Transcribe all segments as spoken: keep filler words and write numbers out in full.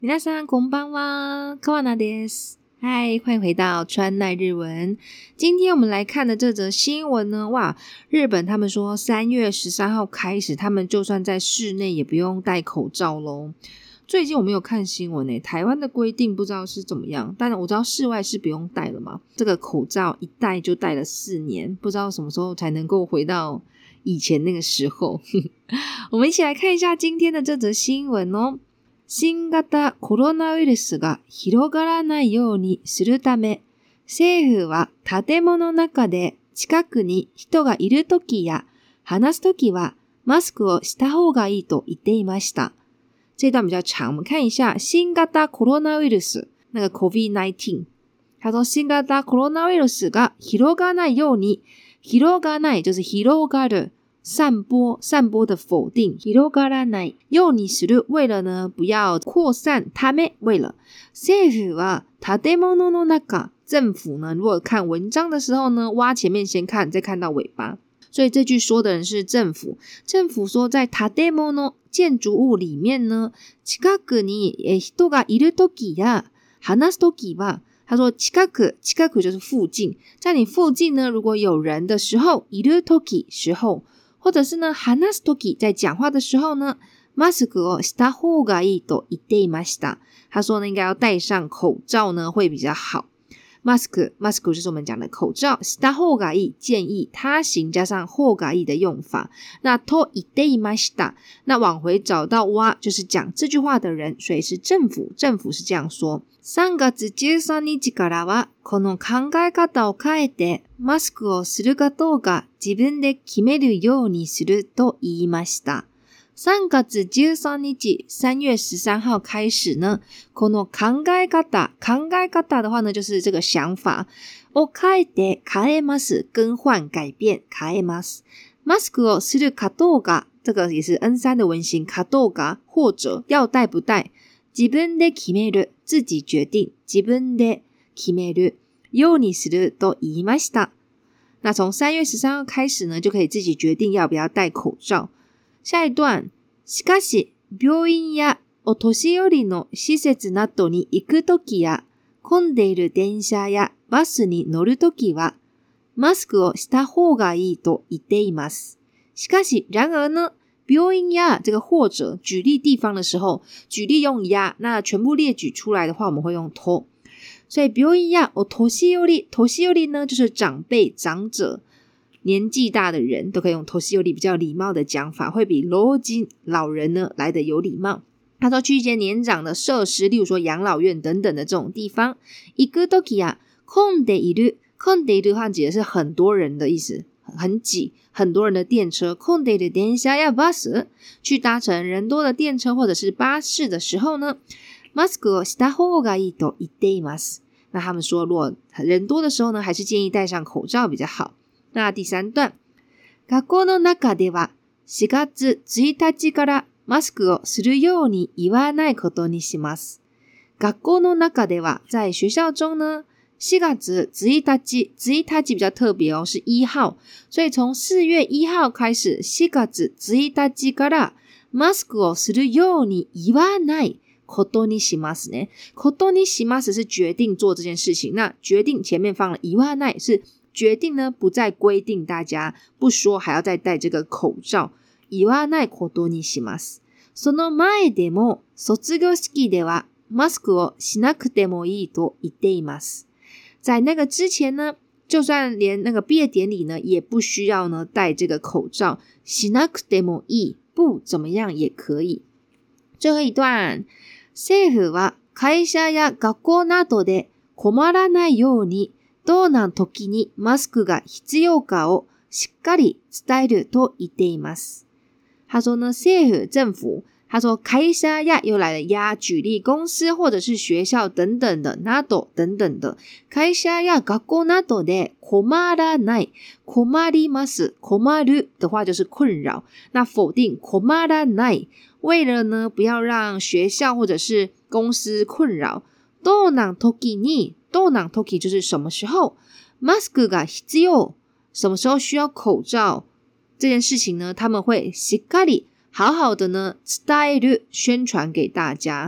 皆さんこんばんは，川名です。嗨，歡迎回到川奈日文。今天我們來看的這則新聞呢，哇，日本他們說三月十三號開始，他們就算在室內也不用戴口罩咯。最近我沒有看新聞誒，台灣的規定不知道是怎麼樣，但我知道室外是不用戴了嘛。這個口罩一戴就戴了四年，不知道什麼時候才能夠回到以前那個時候。我們一起來看一下今天的這則新聞哦。新型コロナウイルスが広がらないようにするため、政府は建物の中で近くに人がいるときや話すときはマスクをした方がいいと言っていました。這段比較長，我們看一下新型コロナウイルス，那個 COVID 十九。他說新型コロナウイルスが広がらないように，広がらない就是広がる。散播散播的否定広がらないようにする為了呢不要擴散ため為了政府は建物の中政府呢如果看文章的時候呢挖前面先看再看到尾巴，所以這句說的人是政府。政府說在建物建築物裡面呢近くに人がいるときや話すときは他說近く近く就是附近，在你附近呢如果有人的時候いるとき時候或者是呢話すとき在講話的時候呢マスクをした方がいいと言っていました。他說呢應該要戴上口罩呢會比較好。マスクマスク就是我們講的口罩，した方がいい建議他行加上方がいい的用法。那と言っていました那往回找到は就是講這句話的人，所以是政府，政府是這樣說。さんがつじゅうさんにちからはこの考え方を変えてマスクをするかどうか自分で決めるようにすると言いました。さんがつじゅうさんにち三月十三號開始呢この考え方考え方的話呢就是這個想法を変えて変えます更換改變変えますマスクをするかどうか這個也是 エヌスリー 的文型かどうか或者要戴不戴自分で決める自己決定自分で決めるようにすると言いました。那從三月十三號開始呢就可以自己決定要不要戴口罩。下一段しかし病院やお年寄りの施設などに行くときや混んでいる電車やバスに乗るときはマスクをした方がいいと言っています。しかし然而呢病院や這個或者舉例地方的時候舉例用や那全部列舉出來的話我們會用と。所以病院やお年寄り年寄り呢就是長輩長者年紀大的人都可以用年寄り比較禮貌的講法，會比老人老人呢來得有禮貌。他說去一些年長的設施，例如說養老院等等的這種地方。行くときや混んでいる混んでいる的話指的是很多人的意思，很擠很多人的電車。混んでいる電車やバス去搭乘人多的電車或者是巴士的時候呢マスクをした方がいいと言っています。那他們說如果人多的時候呢還是建議戴上口罩比較好。那第三段学校の中ではしがつついたちからマスクをするように言わないことにします。学校の中では在學校中呢しがつついたちついたち比較特別哦是一號所以從四月一號開始しがつついたちからマスクをするように言わないことにしますね。ことにします是決定做這件事情，那決定前面放了言わない是決定呢不再規定大家不說還要再戴這個口罩。言わないことにします。その前でも卒業式ではマスクをしなくてもいいと言っています。在那個之前呢就算連那個畢業典禮呢也不需要呢戴這個口罩。しなくてもいい不怎麼樣也可以。最後一段政府は会社や学校などで困らないようにどんな時にマスクが必要かをしっかり伝えると言っています。他說呢政府政府他說會社や又來了呀舉例公司或者是學校等等的など等等的會社や學校などで困らない困ります困る的話就是困擾那否定困らない為了呢不要讓學校或者是公司困擾どんな時にどんな時就是什麼時候マスクが必要什麼時候需要口罩這件事情呢他們會しっかり好好的呢伝える宣傳給大家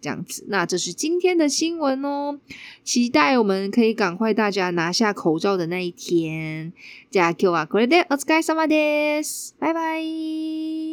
這樣子。那這是今天的新聞哦，期待我們可以趕快大家拿下口罩的那一天。じゃあ今日はこれでお疲れ様です。拜拜。